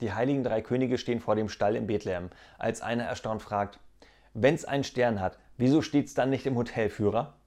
Die heiligen drei Könige stehen vor dem Stall in Bethlehem, als einer erstaunt fragt: Wenn's einen Stern hat, wieso steht's dann nicht im Hotelführer?